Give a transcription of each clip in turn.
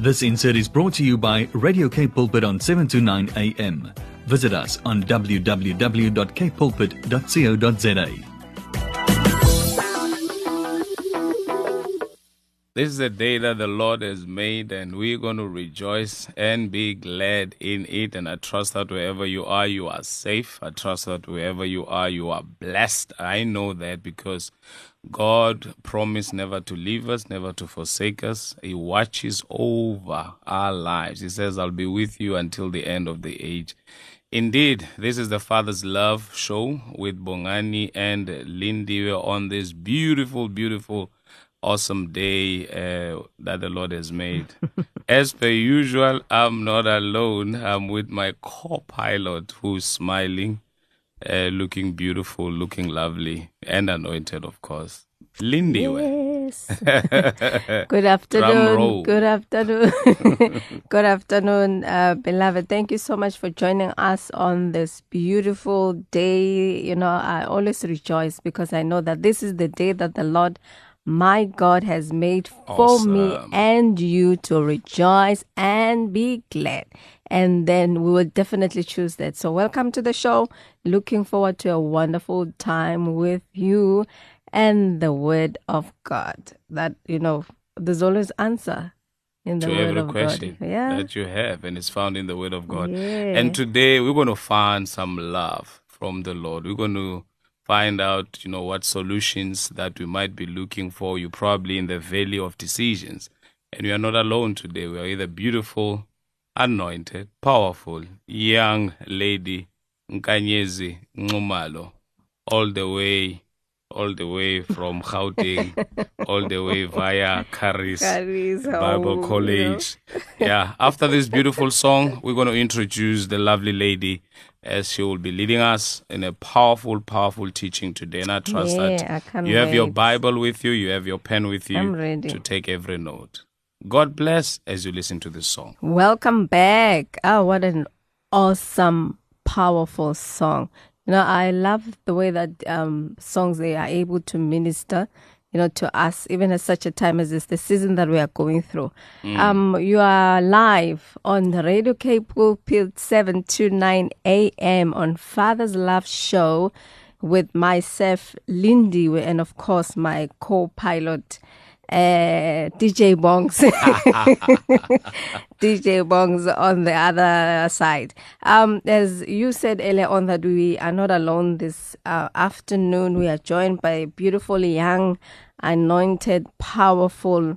This insert is brought to you by Radio K Pulpit on 7 to 9 a.m. Visit us on www.kpulpit.co.za. This is the day that the Lord has made, and we're going to rejoice and be glad in it. And I trust that wherever you are safe. I trust that wherever you are blessed. I know that because God promised never to leave us, never to forsake us. He watches over our lives. He says, I'll be with you until the end of the age. Indeed, this is the Father's Love Show with Bongani and Lindy. We're on this beautiful, awesome day that the Lord has made. As per usual, I'm not alone. I'm with my co-pilot who's smiling, looking beautiful, looking lovely, and anointed, of course. Lindy. Yes. Good afternoon. Good afternoon. Good afternoon, beloved. Thank you so much for joining us on this beautiful day. You know, I always rejoice because I know that this is the day that the Lord my God has made for me and you to rejoice and be glad. And then we will definitely choose that. So welcome to the show. Looking forward to a wonderful time with you and the Word of God. That, you know, there's always answer in the Word of God. To every question that you have, and it's found in the Word of God. Yeah. And today we're going to find some love from the Lord. We're going to find out, you know, what solutions that we might be looking for. You're probably in the valley of decisions. And we are not alone today. We are either beautiful, anointed, powerful, young lady, Nkanyezi Ngumalo, all the way from Gauteng, all the way via Caris Bible College. Yeah, after this beautiful song, we're going to introduce the lovely lady as she will be leading us in a powerful teaching today. And I trust that you have your Bible with you, you have your pen with you to take every note. God bless as you listen to this song. Welcome back. Oh, what an awesome, powerful song. You know, I love the way that songs, they are able to minister, you know, to us, even at such a time as this, the season that we are going through. You are live on the Radio K Pulpit 7 to 9 a.m. on Father's Love Show with myself, Lindy, and of course my co-pilot, DJ Bongs. DJ Bongs on the other side. As you said earlier on, that we are not alone this afternoon. We are joined by a beautiful, young, anointed, powerful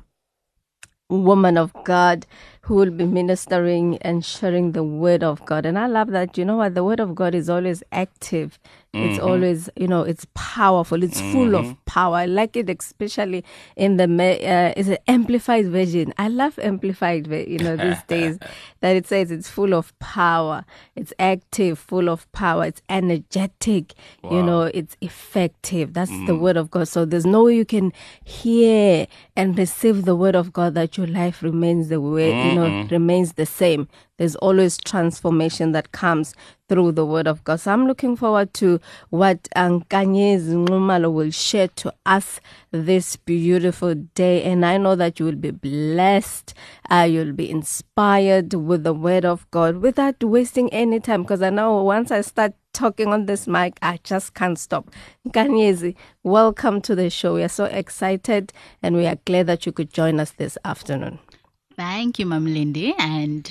woman of God who will be ministering and sharing the Word of God. And I love that, you know what, the Word of God is always active. It's always, you know, it's powerful. It's full of power. I like it, especially in the it's an amplified version. I love amplified, you know, these days that it says it's full of power. It's active, full of power. It's energetic. Wow. You know, it's effective. That's the Word of God. So there's no way you can hear and receive the Word of God that your life remains the way, you know, remains the same. There's always transformation that comes through the Word of God. So I'm looking forward to what Nkanyezi Ngumalo will share to us this beautiful day. And I know that you will be blessed. You'll be inspired with the Word of God without wasting any time. Because I know once I start talking on this mic, I just can't stop. Nkanyezi, welcome to the show. We are so excited and we are glad that you could join us this afternoon. Thank you, Mom Lindy, and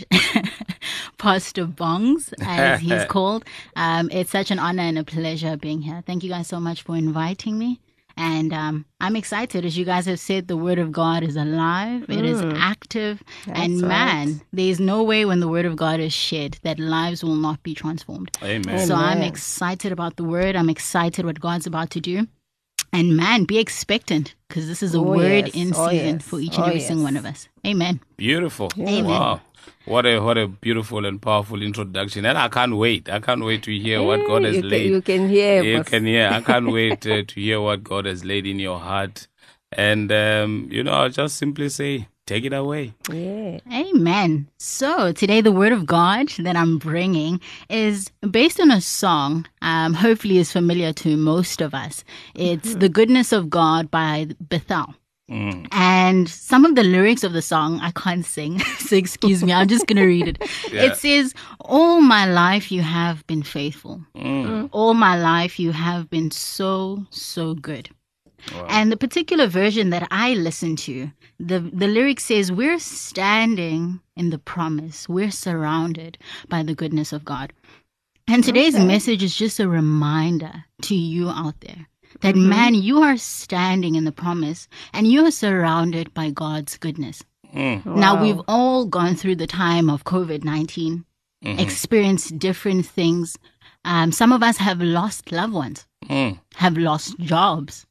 Pastor Bongs, as he's called. It's such an honor and a pleasure being here. Thank you guys so much for inviting me. And I'm excited. As you guys have said, the Word of God is alive. It is active. That's and man, right. There's no way when the Word of God is shared that lives will not be transformed. Amen. So I'm excited about the Word. I'm excited what God's about to do. And man, be expectant, because this is a word in season for each and every single one of us. Amen. Beautiful. Amen. Wow. What a beautiful and powerful introduction. And I can't wait. I can't wait to hear what God has laid. You can hear. You can hear. I can't wait to hear what God has laid in your heart. And, you know, I'll just simply say, take it away. Yeah. Amen. So today the Word of God that I'm bringing is based on a song, hopefully is familiar to most of us. It's The Goodness of God by Bethel. And some of the lyrics of the song, I can't sing, so excuse me, I'm just going to read it. Yeah. It says, all my life you have been faithful. All my life you have been so, so good. Wow. And the particular version that I listen to, the lyric says, we're standing in the promise. We're surrounded by the goodness of God. And today's message is just a reminder to you out there that, man, you are standing in the promise and you are surrounded by God's goodness. Now, we've all gone through the time of COVID-19, experienced different things. Some of us have lost loved ones, have lost jobs.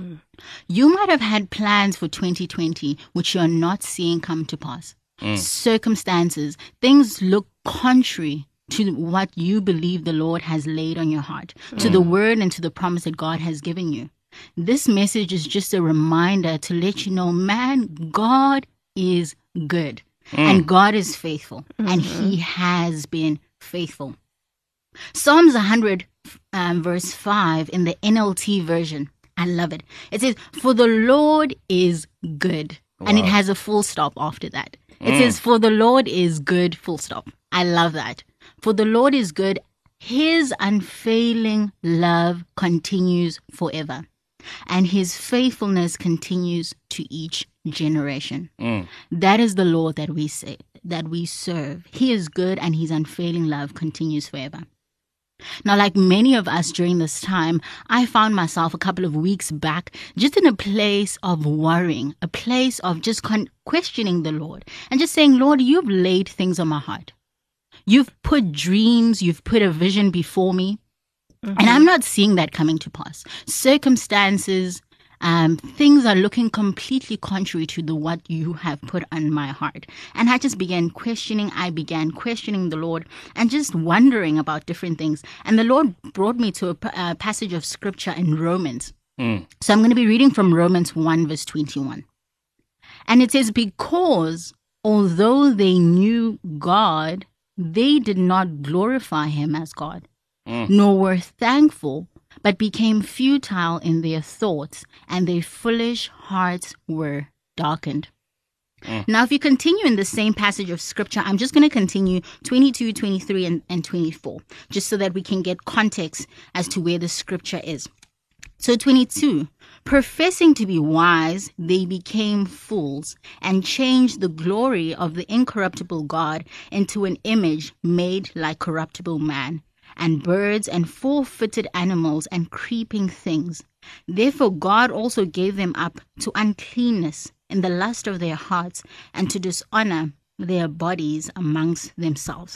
You might have had plans for 2020, which you're not seeing come to pass. Circumstances, things look contrary to what you believe the Lord has laid on your heart, to the word and to the promise that God has given you. This message is just a reminder to let you know, man, God is good and God is faithful and he has been faithful. Psalms 100 verse 5 in the NLT version, I love it. It says, for the Lord is good. And it has a full stop after that. It says, for the Lord is good, full stop. I love that. For the Lord is good. His unfailing love continues forever. And his faithfulness continues to each generation. That is the Lord that we say, that we serve. He is good and his unfailing love continues forever. Now, like many of us during this time, I found myself a couple of weeks back just in a place of worrying, a place of just questioning the Lord and just saying, Lord, you've laid things on my heart. You've put dreams, you've put a vision before me, and I'm not seeing that coming to pass. Circumstances, things are looking completely contrary to what you have put on my heart. And I just began questioning. I began questioning the Lord and just wondering about different things. And the Lord brought me to a passage of scripture in Romans. So I'm going to be reading from Romans 1 verse 21. And it says, because although they knew God, they did not glorify him as God, nor were thankful, but became futile in their thoughts, and their foolish hearts were darkened. Now, if you continue in the same passage of scripture, I'm just going to continue 22, 23, and 24, just so that we can get context as to where the scripture is. So 22, professing to be wise, they became fools and changed the glory of the incorruptible God into an image made like corruptible man, and birds and four-footed animals and creeping things. Therefore God also gave them up to uncleanness in the lust of their hearts, and to dishonor their bodies amongst themselves.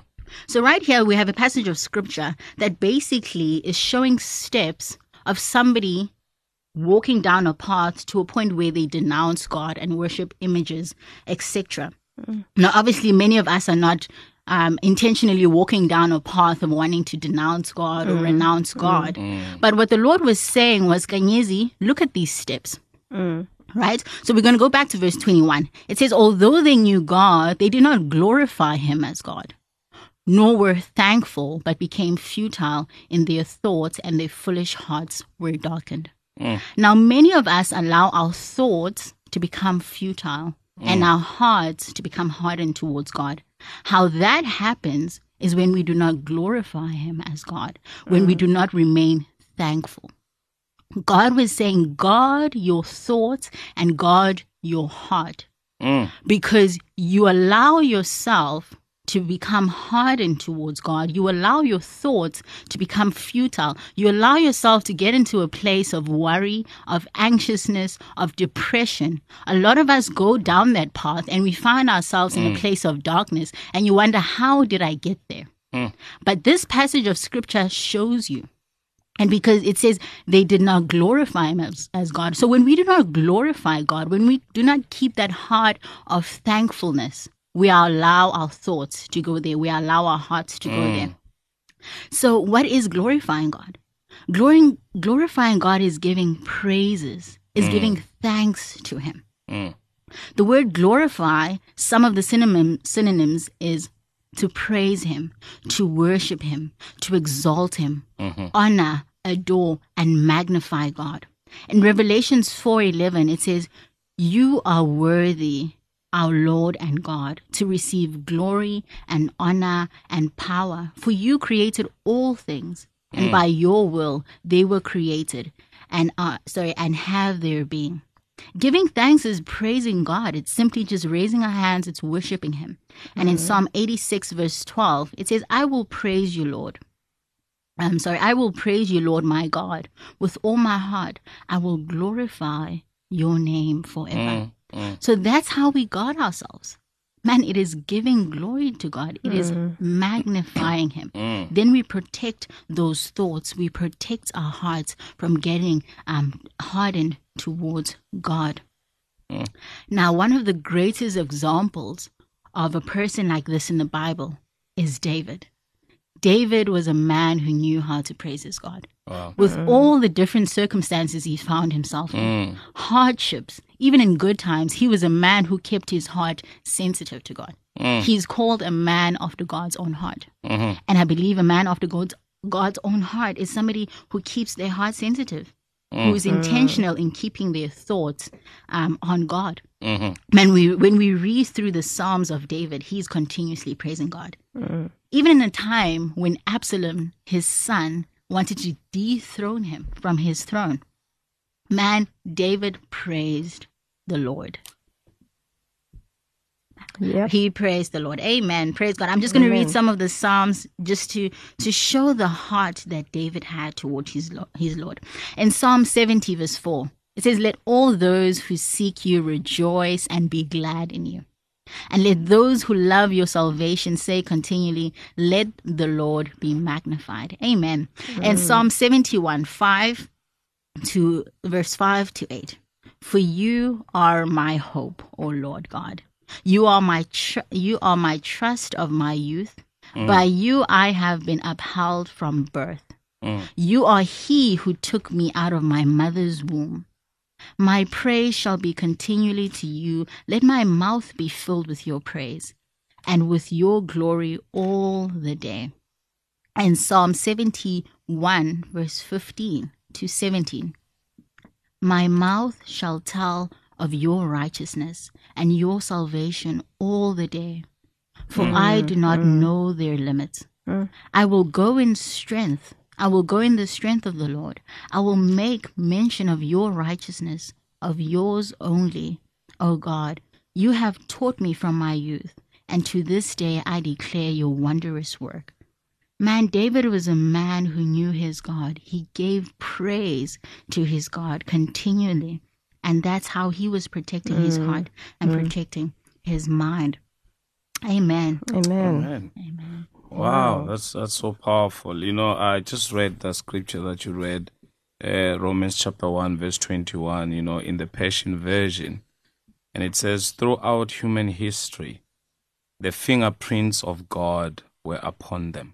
So right here we have a passage of scripture that basically is showing steps of somebody walking down a path to a point where they denounce God and worship images, etc. Now, obviously, many of us are not intentionally walking down a path of wanting to denounce God or renounce God. But what the Lord was saying was, Kanyezi, look at these steps. Right? So we're going to go back to verse 21. It says, although they knew God, they did not glorify him as God, nor were thankful, but became futile in their thoughts, and their foolish hearts were darkened. Now, many of us allow our thoughts to become futile and our hearts to become hardened towards God. How that happens is when we do not glorify him as God, when we do not remain thankful. God was saying, guard your thoughts and guard your heart, because you allow yourself to become hardened towards God. You allow your thoughts to become futile. You allow yourself to get into a place of worry, of anxiousness, of depression. A lot of us go down that path and we find ourselves in a place of darkness, and you wonder, how did I get there? But this passage of scripture shows you. And because it says they did not glorify him as God. So when we do not glorify God, when we do not keep that heart of thankfulness, we allow our thoughts to go there. We allow our hearts to go there. So what is glorifying God? Glorifying God is giving praises, is giving thanks to him. The word glorify, some of the synonyms is to praise him, to worship him, to exalt him, honor, adore, and magnify God. In Revelations 4:11, it says, "You are worthy, our Lord and God, to receive glory and honor and power, for you created all things, and by your will they were created and have their being." Giving thanks is praising God. It's simply just raising our hands. It's worshiping Him. And in Psalm 86, verse 12, it says, I will praise you, Lord. I will praise you, Lord, my God. With all my heart, I will glorify your name forever. So that's how we guard ourselves. Man, it is giving glory to God. It is magnifying Him. Then we protect those thoughts. We protect our hearts from getting hardened towards God. Now, one of the greatest examples of a person like this in the Bible is David. David was a man who knew how to praise his God. Wow. With all the different circumstances he found himself in, hardships, even in good times, he was a man who kept his heart sensitive to God. He's called a man after God's own heart. And I believe a man after God's own heart is somebody who keeps their heart sensitive, who is intentional in keeping their thoughts on God. When we read through the Psalms of David, he's continuously praising God. Even in a time when Absalom, his son, wanted to dethrone him from his throne, man, David praised the Lord. Yep. He praised the Lord. Amen. Praise God. I'm just going to read some of the Psalms just to show the heart that David had toward his Lord. In Psalm 70, verse 4, it says, let all those who seek you rejoice and be glad in you. And let those who love your salvation say continually, let the Lord be magnified. Amen. And Psalm 71, 5 to verse 5 to 8. For you are my hope, O Lord God. You are my trust of my youth. By you I have been upheld from birth. You are he who took me out of my mother's womb. My praise shall be continually to you. Let my mouth be filled with your praise and with your glory all the day. And Psalm 71, verse 15 to 17. My mouth shall tell of your righteousness and your salvation all the day, for I do not know their limits. I will go in strength. I will go in the strength of the Lord. I will make mention of your righteousness, of yours only, O God. You have taught me from my youth, and to this day I declare your wondrous work. Man, David was a man who knew his God. He gave praise to his God continually, and that's how he was protecting his heart and protecting his mind. Amen. Amen. Amen. Wow, that's so powerful. You know, I just read the scripture that you read, Romans chapter 1, verse 21, you know, in the Passion Version. And it says, throughout human history, the fingerprints of God were upon them.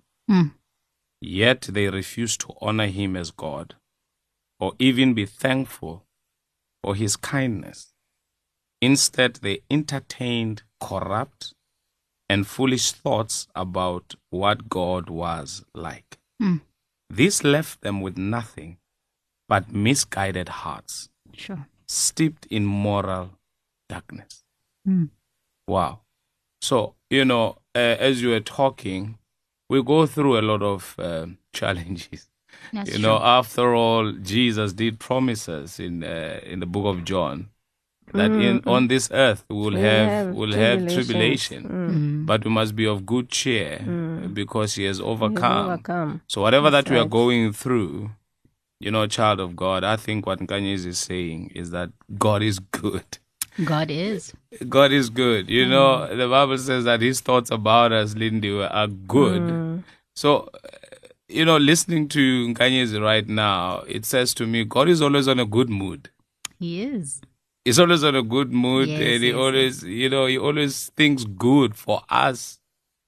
Yet they refused to honor him as God or even be thankful for his kindness. Instead, they entertained corrupt and foolish thoughts about what God was like. This left them with nothing but misguided hearts, Sure. steeped in moral darkness. Wow. So, you know, as you were talking, we go through a lot of challenges. That's You know, true. after all, Jesus did promise us in the book of John that on this earth we'll have tribulation, but we must be of good cheer because he has overcome. So whatever that we are going through, you know, child of God, I think what Nkanyezi is saying is that God is good. God is. God is good. You know, the Bible says that his thoughts about us, Lindy, are good. So, you know, listening to Nkanyezi right now, it says to me, God is always on a good mood. He is. He's always on a good mood, Yes, and he yes, always, you know, he always thinks good for us.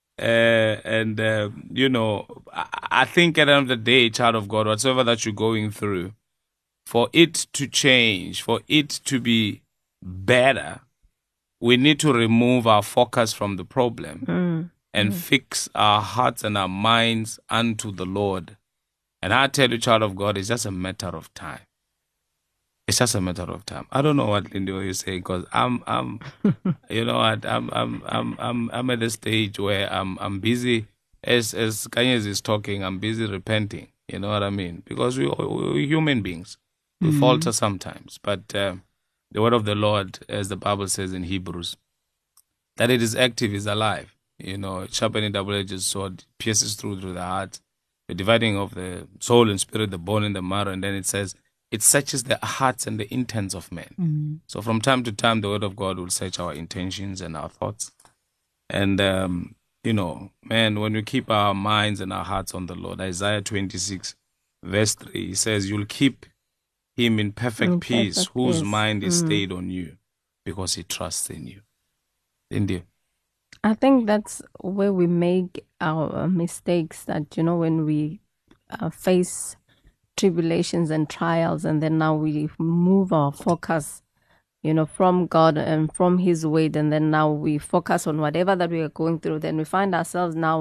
You know, I think at the end of the day, child of God, whatsoever that you're going through, for it to change, for it to be better, we need to remove our focus from the problem and fix our hearts and our minds unto the Lord. And I tell you, child of God, it's just a matter of time. It's just a matter of time. I don't know what Lindy is saying because I'm you know what, I'm at a stage where I'm busy. As Kanyes is talking, I'm busy repenting. You know what I mean? Because we're human beings. We falter sometimes. But the word of the Lord, as the Bible says in Hebrews, that it is active, is alive. You know, sharpening double-edged sword, pierces through the heart, the dividing of the soul and spirit, the bone and the marrow. And then it says, it searches the hearts and the intents of men. So from time to time, the word of God will search our intentions and our thoughts. And, you know, man, when we keep our minds and our hearts on the Lord, Isaiah 26, verse 3, he says, you'll keep him in perfect peace, whose mind is stayed on you, because he trusts in you. India. I think that's where we make our mistakes, that, you know, when we face tribulations and trials, and then now we move our focus, you know, from God and from his word, and then now we focus on whatever that we are going through, then we find ourselves now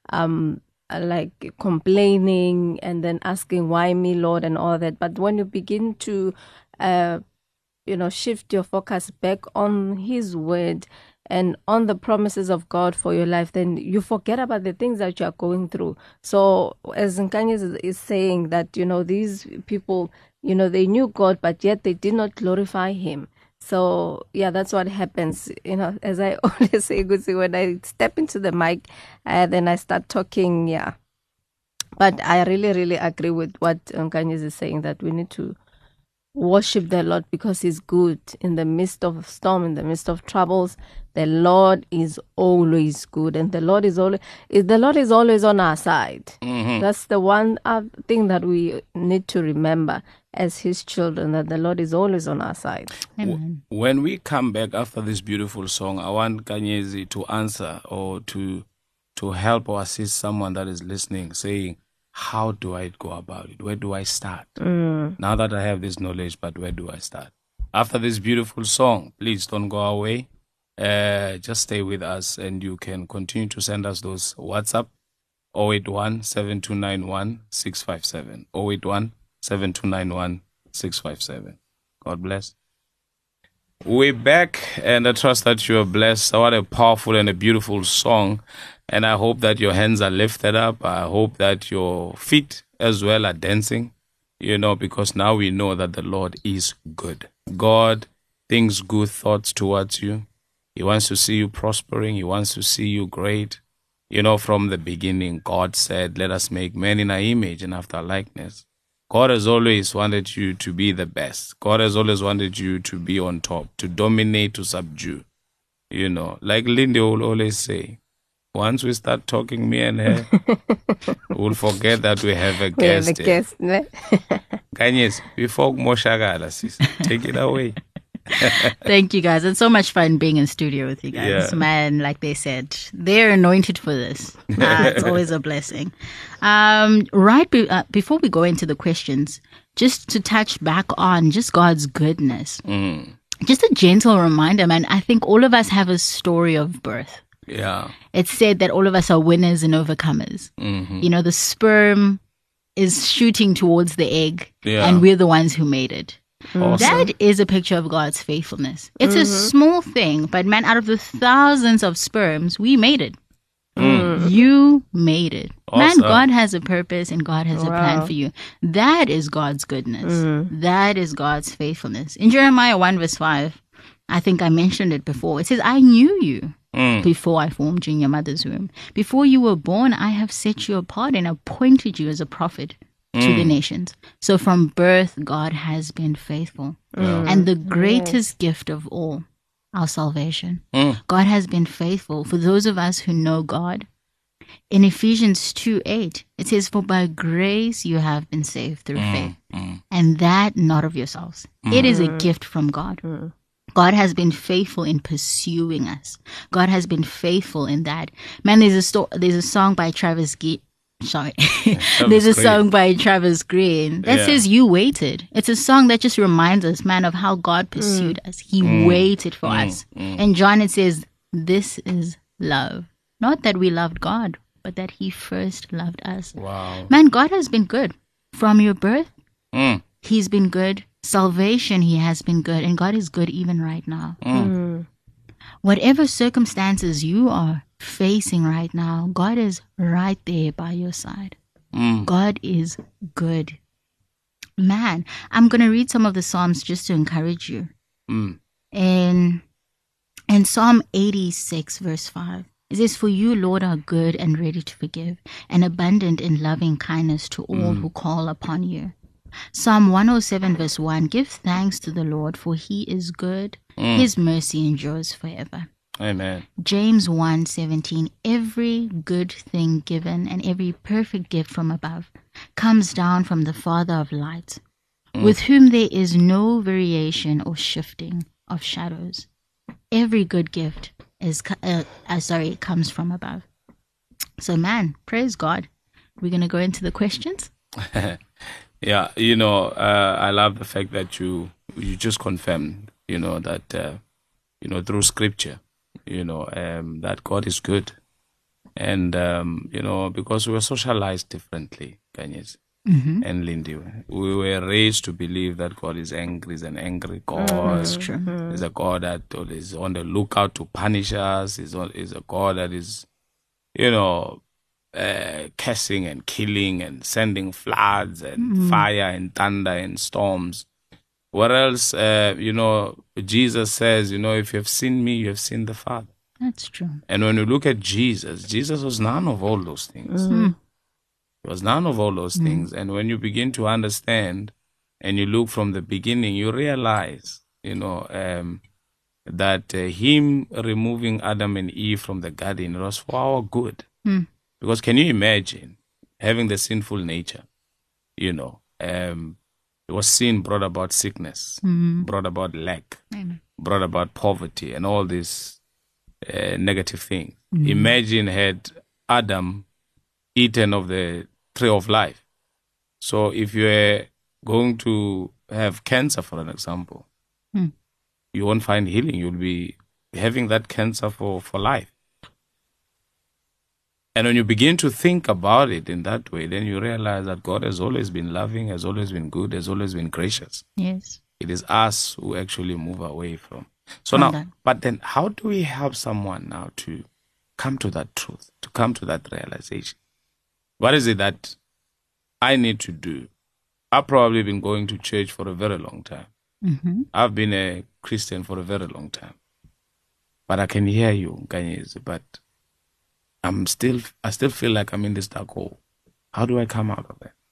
like complaining and then asking, why me, Lord, and all that. But when you begin to you know, shift your focus back on his word and on the promises of God for your life, then you forget about the things that you are going through. So as Nkanyis is saying that, you know, these people, you know, they knew God, but yet they did not glorify him. So yeah, that's what happens. You know, as I always say, Gusi, when I step into the mic, then I start talking, yeah. But I really, really agree with what Nkanyis is saying, that we need to worship the Lord because he's good. In the midst of storm, in the midst of troubles, the Lord is always good, and the Lord is always on our side. That's the one thing that we need to remember as his children, that the Lord is always on our side. Amen. When we come back after this beautiful song, I want Kanyezi to answer or to help or assist someone that is listening, saying, how do I go about it? Where do I start? Now that I have this knowledge, but where do I start? After this beautiful song, please don't go away. Just stay with us, and you can continue to send us those WhatsApp 081-7291-657. 081-7291-657. God bless. We're back, and I trust that you are blessed. What a powerful and a beautiful song. And I hope that your hands are lifted up. I hope that your feet as well are dancing, you know, because now we know that the Lord is good. God thinks good thoughts towards you. He wants to see you prospering. He wants to see you great. You know, from the beginning, God said, let us make man in our image and after our likeness. God has always wanted you to be the best. God has always wanted you to be on top, to dominate, to subdue. You know, like Lindy will always say, once we start talking, me and her, we'll forget that we have a guest. We have a guest, ne? Kanyes, before Moshagala, sis, take it away. Thank you, guys. It's so much fun being in studio with you guys. Yeah. Man, like they said, they're anointed for this. It's always a blessing. Before we go into the questions, just to touch back on just God's goodness. Just a gentle reminder, man. I think all of us have a story of birth. Yeah. It's said that all of us are winners and overcomers. You know, the sperm is shooting towards the egg, and we're the ones who made it. Awesome. That is a picture of God's faithfulness. It's a small thing, but man, out of the thousands of sperms, we made it. You made it. Awesome. Man, God has a purpose and God has a plan for you. That is God's goodness. That is God's faithfulness. In Jeremiah 1 verse 5, I think I mentioned it before. It says, I knew you before I formed you in your mother's womb. Before you were born, I have set you apart and appointed you as a prophet to the nations. So from birth, God has been faithful. And the greatest gift of all, our salvation. God has been faithful for those of us who know God. In Ephesians 2:8, it says, for by grace you have been saved through faith. And that not of yourselves. It is a gift from God. God has been faithful in pursuing us. God has been faithful in that. Man, there's a song by Travis Green. There's a song by Travis Green that says you waited. It's a song that just reminds us, man, of how God pursued us. He waited for us. And John, it says, this is love. Not that we loved God, but that he first loved us. Wow. Man, God has been good. From your birth, he's been good. salvation, He has been good, and God is good even right now. Whatever circumstances you are facing right now, God is right there by your side. God is good. Man, I'm going to read some of the Psalms just to encourage you. In Psalm 86, verse 5, it says, "For you, Lord, are good and ready to forgive, and abundant in loving kindness to all who call upon you." Psalm 107, verse 1, "Give thanks to the Lord, for He is good. His mercy endures forever." Amen. James 1:17, "Every good thing given and every perfect gift from above comes down from the Father of lights, with whom there is no variation or shifting of shadows." Every good gift comes from above. So, man, praise God. We're going to go into the questions. Yeah, I love the fact that you just confirmed, that, through Scripture, that God is good. And, because we were socialized differently, Kanyes and Lindy. We were raised to believe that God is angry, is an angry God. That's true. Is a God that is on the lookout to punish us. Is a God that is, cursing and killing and sending floods and fire and thunder and storms. What else? Jesus says, if you have seen me, you have seen the Father. That's true. And when you look at Jesus was none of all those things. He was none of all those things. And when you begin to understand and you look from the beginning, you realize, that Him removing Adam and Eve from the garden was for our good. Because can you imagine having the sinful nature? It was sin brought about sickness, brought about lack, brought about poverty, and all these negative things. Imagine had Adam eaten of the tree of life. So if you are going to have cancer, for an example, you won't find healing. You'll be having that cancer for life. And when you begin to think about it in that way, then you realize that God has always been loving, has always been good, has always been gracious. Yes. It is us who actually move away from. So now, but then how do we help someone now to come to that truth, to come to that realization? What is it that I need to do? I've probably been going to church for a very long time. I've been a Christian for a very long time. But I can hear you, Kanyezi, but I still feel like I'm in this dark hole. How do I come out of that?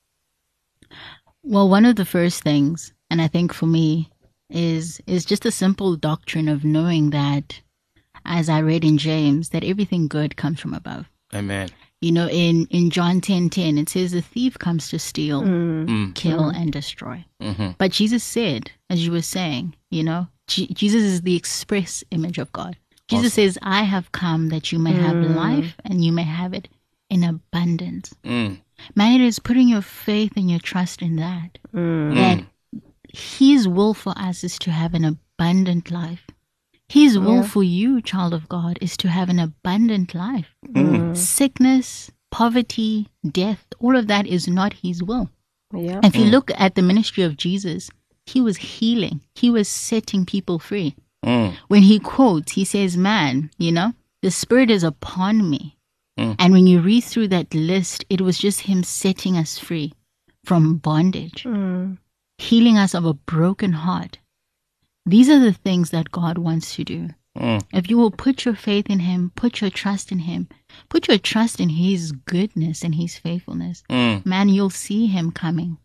Well, one of the first things, and I think for me, is just a simple doctrine of knowing as I read in James, that everything good comes from above. Amen. In John 10:10, it says the thief comes to steal, kill, and destroy. But Jesus said, as you were saying, Jesus is the express image of God. Jesus says, I have come that you may have life and you may have it in abundance. Man, it is putting your faith and your trust in that. That His will for us is to have an abundant life. His will for you, child of God, is to have an abundant life. Sickness, poverty, death, all of that is not His will. Yeah. If you look at the ministry of Jesus, He was healing. He was setting people free. When He quotes, He says, man, the Spirit is upon me. And when you read through that list, it was just Him setting us free from bondage, healing us of a broken heart. These are the things that God wants to do. If you will put your faith in Him, put your trust in Him, put your trust in His goodness and His faithfulness, man, you'll see Him coming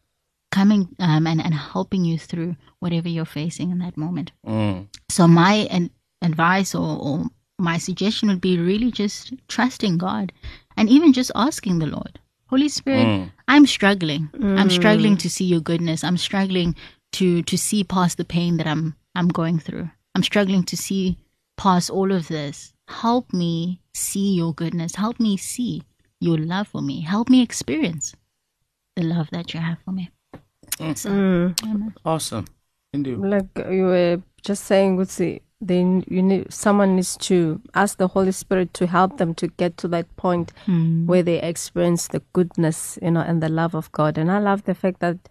and helping you through whatever you're facing in that moment. So my advice or my suggestion would be really just trusting God and even just asking the Lord, Holy Spirit, I'm struggling. I'm struggling to see your goodness. I'm struggling to see past the pain that I'm going through. I'm struggling to see past all of this. Help me see your goodness. Help me see your love for me. Help me experience the love that you have for me. So, awesome. Indeed. Like you were just saying, then someone needs to ask the Holy Spirit to help them to get to that point where they experience the goodness, and the love of God. And I love the fact that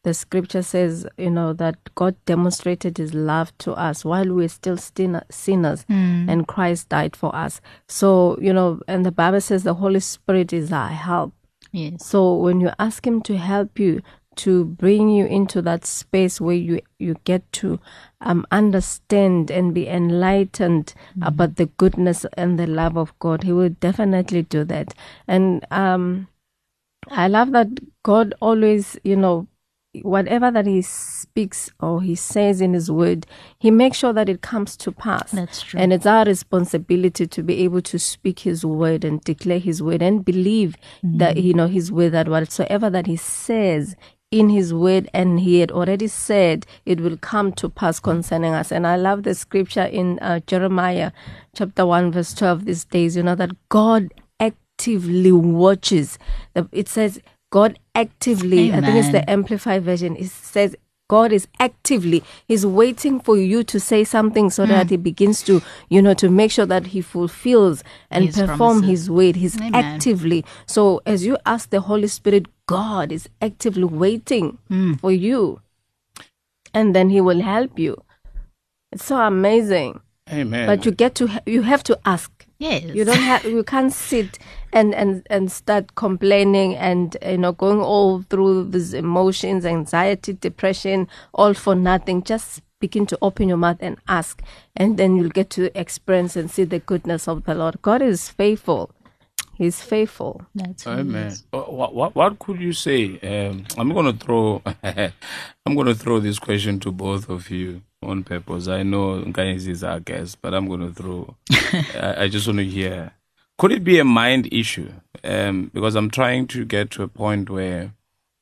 the scripture says, that God demonstrated his love to us while we were still sinners, and Christ died for us. So, and the Bible says the Holy Spirit is our help. Yes. So when you ask him to help you, to bring you into that space where you get to understand and be enlightened about the goodness and the love of God, he will definitely do that. And I love that God always, whatever that he speaks or he says in his word, he makes sure that it comes to pass. That's true. And it's our responsibility to be able to speak his word and declare his word and believe that, his word, that whatsoever that he says in his word, and he had already said it will come to pass concerning us. And I love the scripture in Jeremiah chapter 1 verse 12 these days, that God actively watches. It says God actively, Amen. I think it's the Amplified version, it says God is actively, he's waiting for you to say something so that he begins to, to make sure that he fulfills and His perform promises. his word. He's Amen. actively. So as you ask the Holy Spirit, God is actively waiting for you. And then he will help you. It's so amazing. Amen. But you have to ask. Yes. You can't sit and start complaining and going all through these emotions, anxiety, depression, all for nothing. Just begin to open your mouth and ask, and then you'll get to experience and see the goodness of the Lord. God is faithful. He's faithful. That's Amen. What could you say? I'm going to throw this question to both of you on purpose. I know Nkanyezi is our guest, but I'm going to throw. I just want to hear. Could it be a mind issue? Because I'm trying to get to a point where,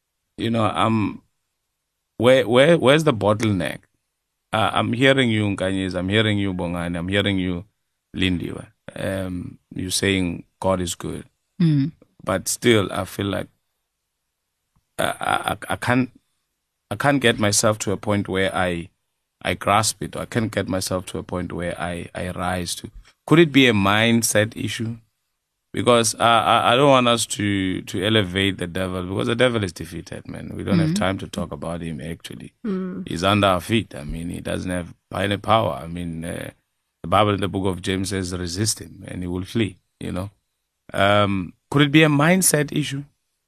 where's the bottleneck? I'm hearing you, Nkanyezi. I'm hearing you, Bongani. I'm hearing you, Lindiwe. You're saying God is good, but still, I feel like I can't get myself to a point where I grasp it. Or I can't get myself to a point where I rise to. Could it be a mindset issue? Because I don't want us to elevate the devil, because the devil is defeated, man. We don't have time to talk about him, actually. He's under our feet. I mean, he doesn't have any power. I mean, the Bible in the book of James says, resist him and he will flee, Could it be a mindset issue?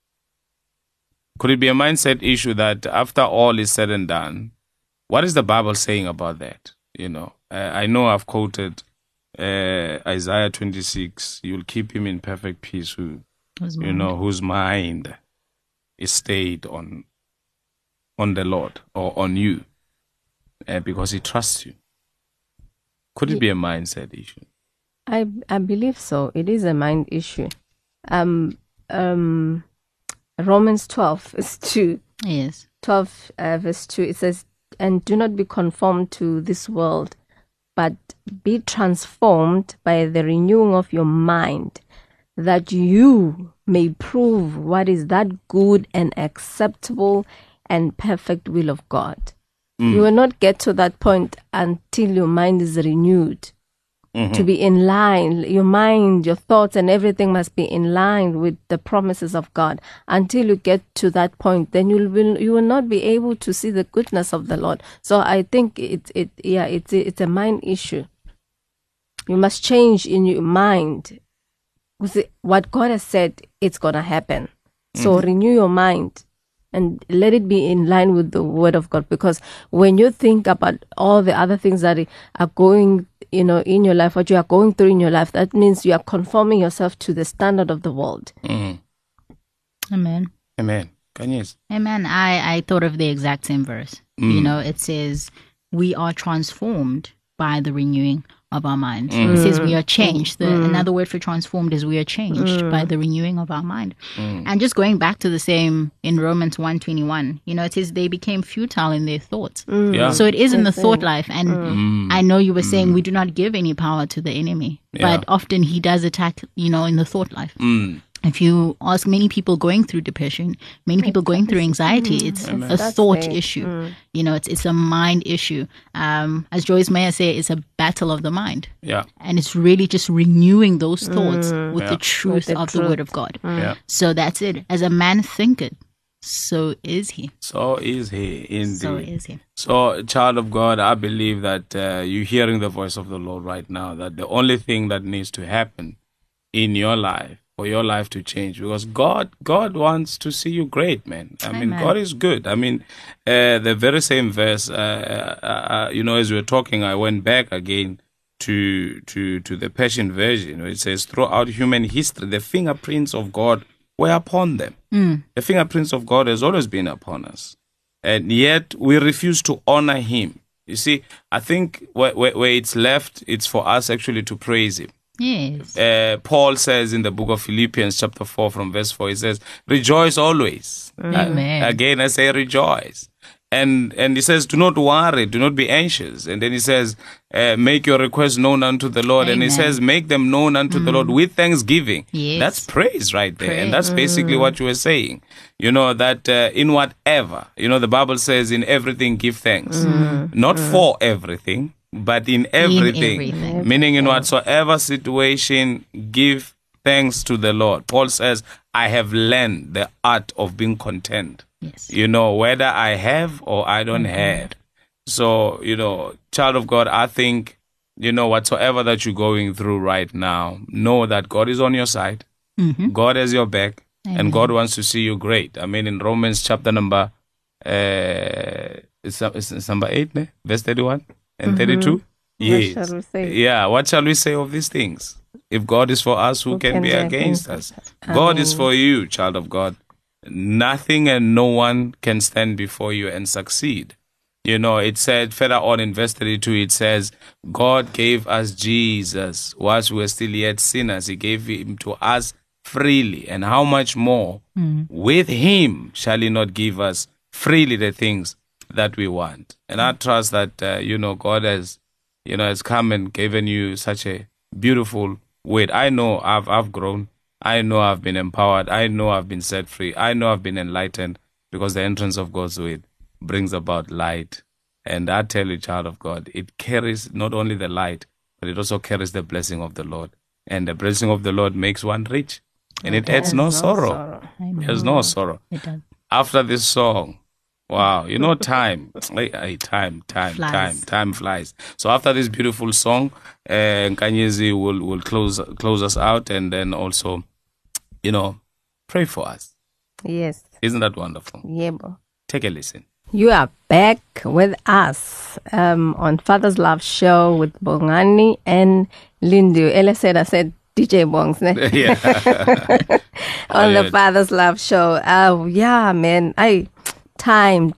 Could it be a mindset issue that after all is said and done, what is the Bible saying about that? I know I've quoted Isaiah 26, you'll keep him in perfect peace whose mind is stayed on the Lord or on you because he trusts you. Could it be a mindset issue? I believe so. It is a mind issue. Romans 12 verse 2. Yes. 12 verse 2. It says, "And do not be conformed to this world, but be transformed by the renewing of your mind, that you may prove what is that good and acceptable and perfect will of God." You will not get to that point until your mind is renewed. To be in line, your mind, your thoughts and everything must be in line with the promises of God. Until you get to that point, then you will not be able to see the goodness of the Lord. So I think it's a mind issue. You must change in your mind. What God has said, it's gonna happen. So renew your mind and let it be in line with the word of God. Because when you think about all the other things that are going, in your life, what you are going through in your life, that means you are conforming yourself to the standard of the world. Amen. Amen. Kanyezi. Amen. I thought of the exact same verse. It says, we are transformed by the renewing of our mind. It says we are changed. Another word for transformed is we are changed by the renewing of our mind. And just going back to the same in Romans 1:21, it says they became futile in their thoughts. Yeah. So it is in the thought life. And I know you were saying we do not give any power to the enemy, but often he does attack, in the thought life. If you ask many people going through depression, many people going through anxiety, it's a thought issue. It's a mind issue. As Joyce Meyer said, it's a battle of the mind. Yeah. And it's really just renewing those thoughts with the truth With the of truth. the word of God. Yeah. So that's it. As a man thinketh, so is he. So is he, indeed. So is he. So, child of God, I believe that you're hearing the voice of the Lord right now, that the only thing that needs to happen in your life, for your life to change, because God wants to see you great, man. I mean, God is good. I mean, the very same verse, as we were talking, I went back again to the Passion Version. It says, throughout human history, the fingerprints of God were upon them. The fingerprints of God has always been upon us. And yet we refuse to honor him. You see, I think where it's left, it's for us actually to praise him. Yes. Paul says in the book of Philippians chapter 4 from verse 4, he says, rejoice always. Amen. Again, I say rejoice. And he says, do not worry, do not be anxious. And then he says, make your requests known unto the Lord. Amen. And he says, make them known unto the Lord with thanksgiving. Yes. That's praise right there. And that's basically what you were saying. That in whatever, the Bible says, in everything give thanks. Not for everything, but in everything. Meaning in whatsoever situation, give thanks to the Lord. Paul says, I have learned the art of being content. Yes. Whether I have or I don't have. So, child of God, I think, whatsoever that you're going through right now, know that God is on your side. God has your back. Amen. And God wants to see you great. I mean, in Romans chapter number, it's number 8, verse 31 and 32. Yes. What shall we say? Yeah, what shall we say of these things? If God is for us, who can be against us? God is for you, child of God. Nothing and no one can stand before you and succeed. It said further on in verse 32, it says, God gave us Jesus whilst we were still yet sinners. He gave him to us freely. And how much more with him shall he not give us freely the things that we want? And I trust that, God has, has come and given you such a beautiful word. I know I've grown. I know I've been empowered. I know I've been set free. I know I've been enlightened because the entrance of God's word brings about light. And I tell you, child of God, it carries not only the light, but it also carries the blessing of the Lord. And the blessing of the Lord makes one rich. And it adds no sorrow. There's no sorrow. It does. After this song, wow, time flies. So after this beautiful song, Nkanyezi will close us out, and then also, pray for us. Yes. Isn't that wonderful? Yeah. Take a listen. You are back with us on Father's Love Show with Bongani and Lindu. Ella said, I said DJ Bongs. Yeah. On the Father's Love Show. Yeah, man. Time.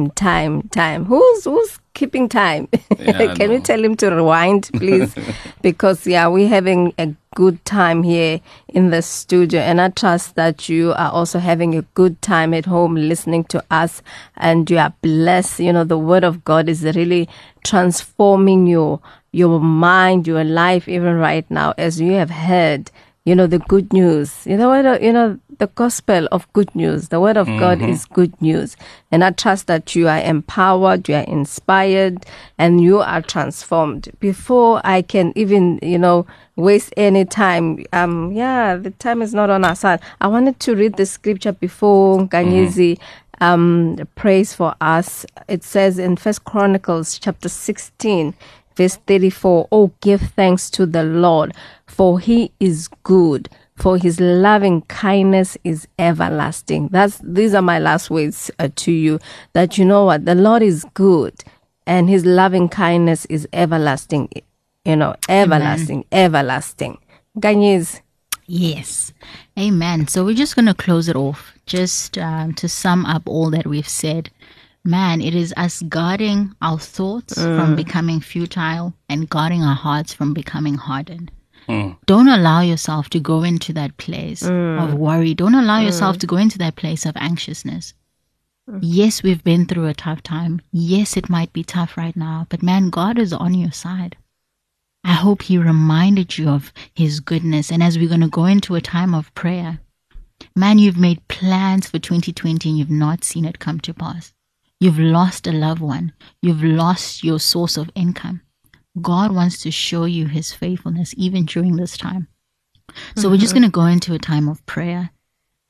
Who's keeping time? Yeah, Can we tell him to rewind, please? Because, we're having a good time here in the studio. And I trust that you are also having a good time at home listening to us. And you are blessed. The Word of God is really transforming your mind, your life, even right now, as you have heard. The good news, the gospel of good news. The word of God is good news. And I trust that you are empowered, you are inspired, and you are transformed. Before I can even, waste any time, the time is not on our side. I wanted to read the scripture before Nkanyezi prays for us. It says in 1 Chronicles chapter 16, verse 34, oh, give thanks to the Lord, for he is good, for his loving kindness is everlasting. These are my last words to you, that you know what, the Lord is good, and his loving kindness is everlasting, everlasting. Nkanyezi. Yes. Amen. So we're just going to close it off, just to sum up all that we've said. Man, it is us guarding our thoughts from becoming futile and guarding our hearts from becoming hardened. Don't allow yourself to go into that place of worry. Don't allow yourself to go into that place of anxiousness. Yes, we've been through a tough time. Yes, it might be tough right now. But man, God is on your side. I hope he reminded you of his goodness. And as we're going to go into a time of prayer, man, you've made plans for 2020 and you've not seen it come to pass. You've lost a loved one. You've lost your source of income. God wants to show you his faithfulness even during this time. So we're just going to go into a time of prayer.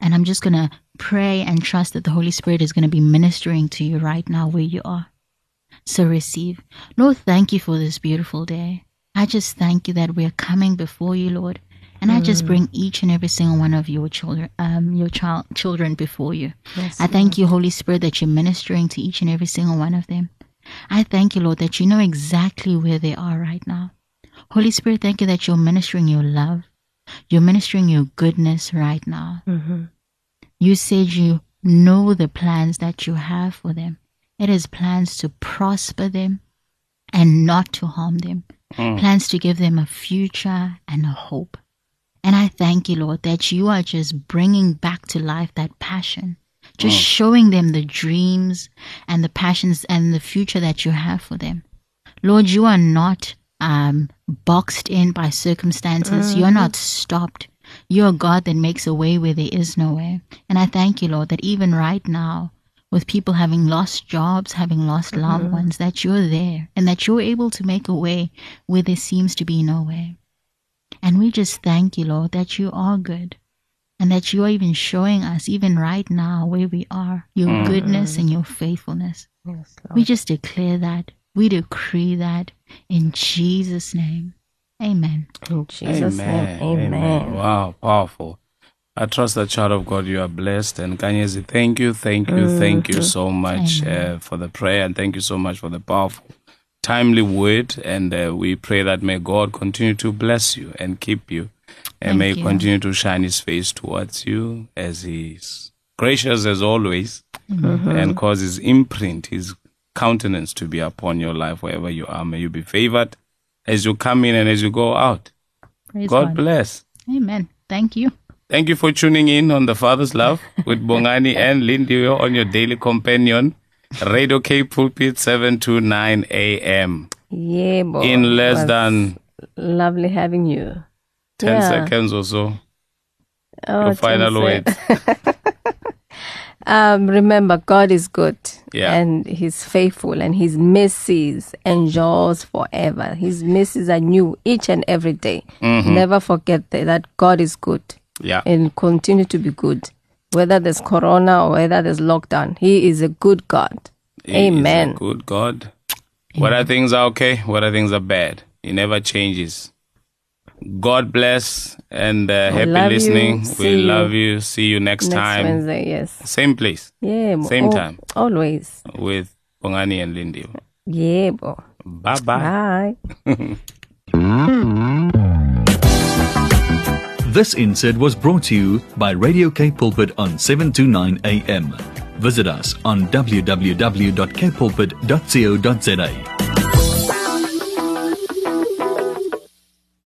And I'm just going to pray and trust that the Holy Spirit is going to be ministering to you right now where you are. So receive. Lord, thank you for this beautiful day. I just thank you that we're coming before you, Lord. And I just bring each and every single one of your children, children before you. Yes, I thank you, Holy Spirit, that you're ministering to each and every single one of them. I thank you, Lord, that you know exactly where they are right now. Holy Spirit, thank you that you're ministering your love. You're ministering your goodness right now. You said you know the plans that you have for them. It is plans to prosper them and not to harm them. Plans to give them a future and a hope. And I thank you, Lord, that you are just bringing back to life that passion. Just showing them the dreams and the passions and the future that you have for them. Lord, you are not boxed in by circumstances. You're not stopped. You're a God that makes a way where there is no way. And I thank you, Lord, that even right now, with people having lost jobs, having lost loved ones, that you're there and that you're able to make a way where there seems to be no way. And we just thank you, Lord, that you are good and that you are even showing us, even right now where we are, your goodness and your faithfulness. Yes, Lord. We just declare that. We decree that in Jesus' name. Amen. In Jesus' name, amen. Wow, powerful. I trust that, child of God, you are blessed. And Kanyezi, thank you so much for the prayer, and thank you so much for the powerful, timely word. And we pray that may God continue to bless you and keep you, and may He continue to shine His face towards you as He's gracious as always, and cause His imprint, His countenance to be upon your life wherever you are. May you be favored as you come in and as you go out. Praise God bless. Amen. Thank you. Thank you for tuning in on The Father's Love with Bongani and Lindiwe on your daily companion, Radio Cape Pulpit, 7 to 9 a.m. Yeah, boy. In less than lovely having you. 10 seconds or so. Your final words. Remember, God is good, Yeah. and He's faithful, and His mercies endures forever. His mercies are new each and every day. Never forget that God is good. Yeah. And continue to be good. Whether there's corona or whether there's lockdown, He is a good God. Amen. He is a good God. Whether things are okay, whether things are bad, He never changes. God bless, and happy love you. listening. See We you love you. See you next time. Wednesday, yes. Same place. Yeah. Same time. Always. With Bongani and Lindy. Yeah, boy. Bye-bye. Bye. This insert was brought to you by Radio Cape Pulpit on 7 to 9 a.m. Visit us on www.capepulpit.co.za.